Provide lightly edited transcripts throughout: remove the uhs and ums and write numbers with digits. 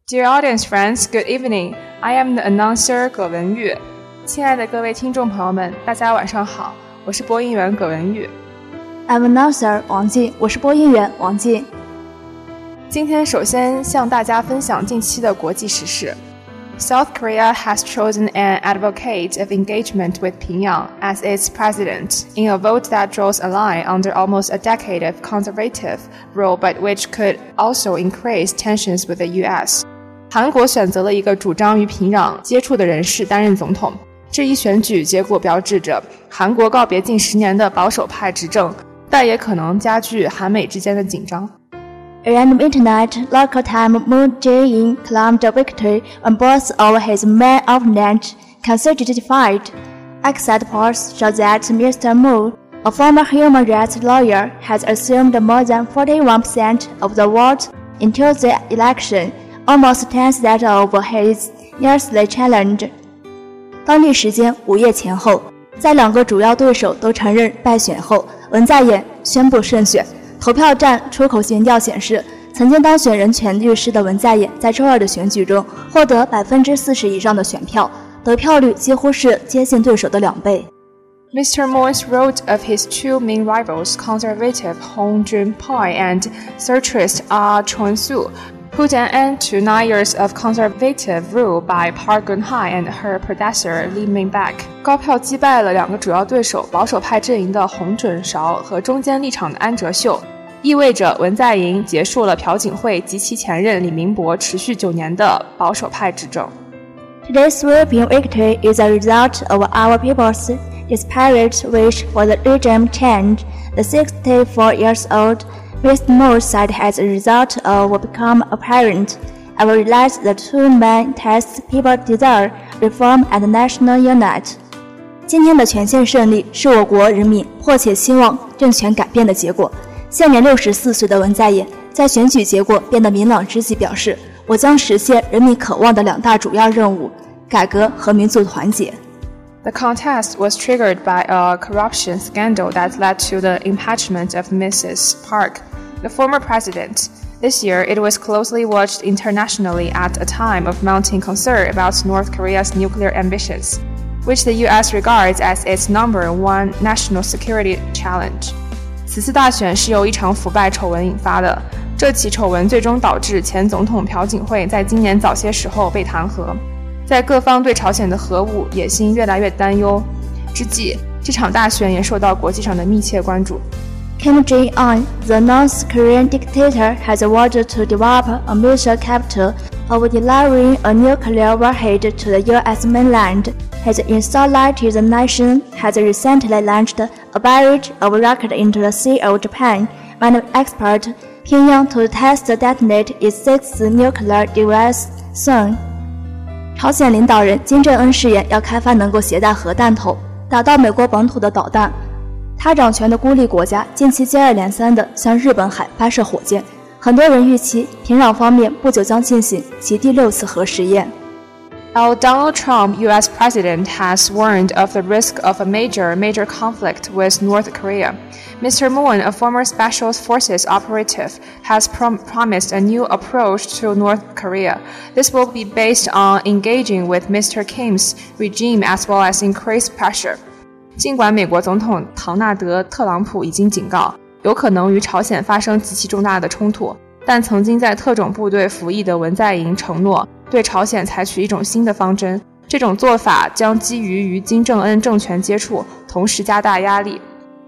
Dear audience friends, good evening. I am the announcer 葛文玉。亲爱的各位听众朋友们，大家晚上好，我是播音员葛文玉。 I'm announcer 王静，我是播音员王静。 今天首先向大家分享近期的国际时事。South Korea has chosen an advocate of engagement with Pyongyang as its president in a vote that draws a line under almost a decade of conservative rule but which could also increase tensions with the US. 韩国选择了一个主张与平壤接触的人士担任总统。这一选举结果标志着韩国告别近10年的保守派执政，但也可能加剧韩美之间的紧张。 Around midnight, local time, Moon Jae-in claimed victory on both of his main opponents, consecutively. Exit polls show that Mr. Moon, a former human rights lawyer, has assumed more than 41% of the vote in Tuesday's election, almost twice that of his nearest challenger. 当地时间午夜前后，在两个主要对手都承认败选后，文在寅宣布胜选。投票站出口民调显示，曾经当选人权律师的文在寅在周二的选举中获得40%以上的选票，得票率几乎是接近对手的2倍。 Mr. Moon's wrote of his two main rivals, conservative Hong Jun-pyo and centrist Ah Chon-soo, put an end to 9 years of conservative rule by Park Geun-hye and her predecessor Lee Min-baek. 高票击败了两个主要对手保守派阵营的洪准韶和中间立场的安哲秀，意味着文在寅结束了朴槿惠及其前任李明博持续9年的保守派执政。 Today's sweeping victory is a result of our people's desperate wish for the regime change. The 64-year-old Mr. Moon said as a result of what become apparent, I realized the two main tests people desire, reform and national unity. 今天的全线胜利是我国人民迫切希望政权改变的结果。现年64岁的文在寅在选举结果变得明朗之际表示，我将实现人民渴望的2大主要任务：改革和民族团结。 The contest was triggered by a corruption scandal that led to the impeachment of Mrs. Park, the former president. This year, it was closely watched internationally at a time of mounting concern about North Korea's nuclear ambitions, which the US regards as its #1 national security challenge. 此次大选是由一场腐败丑闻引发的，这起丑闻最终导致前总统朴槿惠在今年早些时候被弹劾。在各方对朝鲜的核武野心越来越担忧之际，这场大选也受到国际上的密切关注。 Kim Jong-un, the North Korean dictator, has ordered to develop a mission capital of delivering a nuclear warhead to the U.S. mainland. His insulated the nation has recently launched a barrage of rockets into the Sea of Japan, and expect Pyongyang to test detonate its 6th nuclear device soon. 朝鲜领导人金正恩誓言要开发能够携带核弹头打到美国本土的导弹。他掌权的孤立国家近期接二连三地向日本海发射火箭，很多人预期平壤方面不久将进行其第6次核试验。 While Donald Trump, U.S. president, has warned of the risk of a major conflict with North Korea, Mr. Moon, a former Special Forces operative, has promised a new approach to North Korea. This will be based on engaging with Mr. Kim's regime as well as increased pressure. 尽管美国总统唐纳德·特朗普已经警告，有可能与朝鲜发生极其重大的冲突，但曾经在特种部队服役的文在寅承诺对朝鲜采取一种新的方针，这种做法将基于与金正恩政权接触，同时加大压力。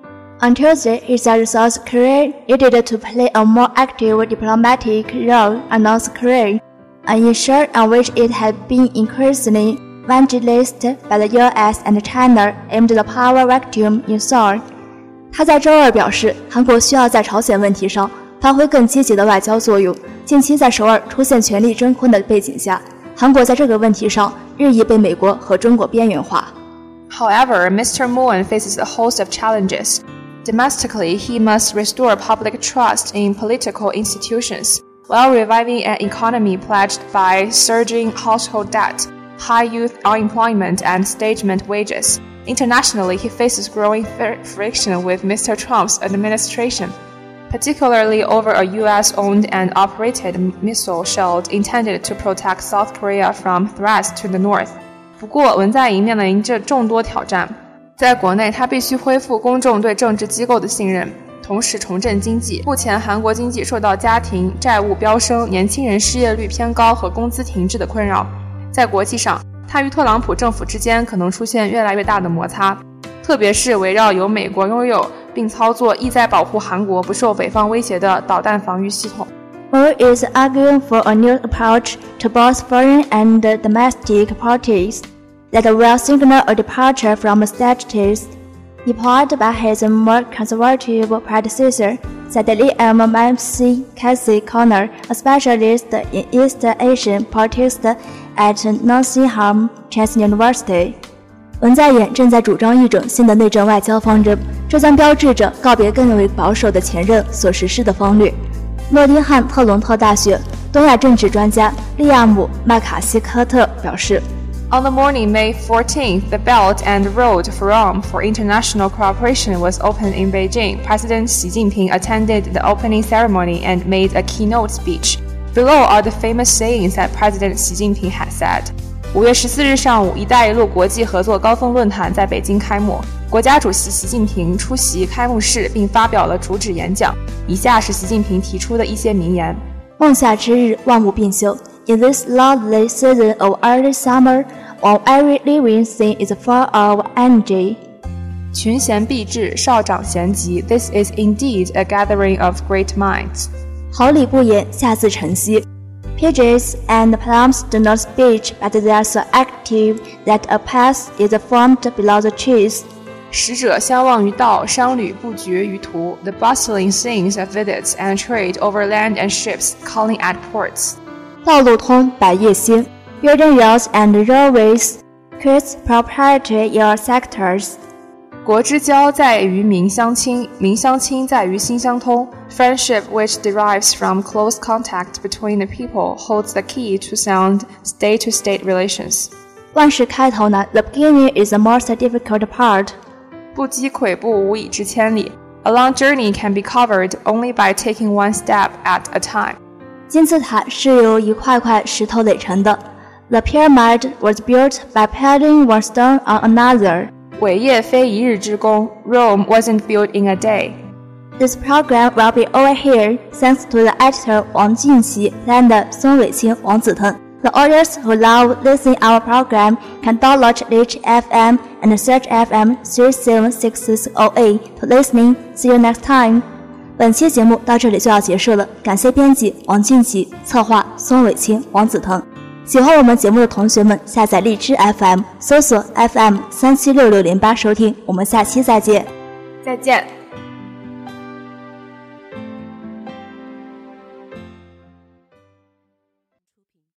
On Tuesday, he said South Korea needed to play a more active diplomatic role on North Korea, an issue on which it had been increasingly evangelized by the U.S. and China amid the power vacuum in Seoul. 他在周二表示，韩国需要在朝鲜问题上发挥更积极的外交作用。近期在首尔出现权力真空的背景下，韩国在这个问题上日益被美国和中国边缘化。 However, Mr. Moon faces a host of challenges. Domestically, he must restore public trust in political institutions, while reviving an economy plagued by surging household debt, high youth unemployment, and stagnant wages. Internationally, he faces growing friction with Mr. Trump's administration. particularly over a US-owned and operated missile shield intended to protect South Korea from threats to the north. 不过，文在寅面临着众多挑战。在国内，他必须恢复公众对政治机构的信任，同时重振经济。目前，韩国经济受到家庭债务飙升、年轻人失业率偏高和工资停滞的困扰。在国际上，他与特朗普政府之间可能出现越来越大的摩擦，特别是围绕由美国拥有并操作意在保护韩国不受北方威胁的导弹防御系统。 Moon is arguing for a new approach to both foreign and domestic policies that will signal a departure from strategies deployed by his more conservative predecessor, said Liam McCasey Connor, a specialist in East Asian politics at Nottingham Trent University. 文在寅正在主张一种新的内政外交方针，这将标志着告别更为保守的前任所实施的方略。诺丁汉特隆特大学东亚政治专家利亚姆·麦卡锡科特表示 On the morning May 14th, the Belt and Road Forum for International Cooperation was opened in Beijing. President Xi Jinping attended the opening ceremony and made a keynote speech. Below are the famous sayings that President Xi Jinping had said. 5月14日上午，一带一路国际合作高峰论坛在北京开幕。国家主席习近平出席开幕式并发表了主旨演讲。以下是习近平提出的一些名言： 梦夏之日，万物并修。In this lovely season of early summer, all every living thing is full of energy. 群贤毕至，少长咸集。This is indeed a gathering of great minds. 好礼不言，下自晨曦。Pigeons and plums do not speak, but they are so active that a path is formed below the trees. 使者相望于道，商旅不绝于途。The bustling scenes of visits and trade over land and ships calling at ports. 道路通，百业兴。Building roads and railways creates prosperity in all sectors. 国之交在于民相亲，民相亲在于心相通。Friendship which derives from close contact between the people holds the key to sound state-to-state relations. 万事开头难 The beginning is the most difficult part. 不积跬步，无以至千里。A long journey can be covered only by taking one step at a time. 金字塔是由一块块石头垒成的。The pyramid was built by piling one stone on another. 伟业非一日之功 Rome wasn't built in a day. This program will be over here thanks to the editor Wang Jinqi and 孙伟清、王子腾。The audience who love listening our program can download Reach FM and search FM 37668 to listening. See you next time. 本期节目到这里就要结束了，感谢编辑王静琪，策划孙伟清、王子腾。喜欢我们节目的同学们，下载荔枝 FM， 搜索 FM 376608收听。我们下期再见。 再见。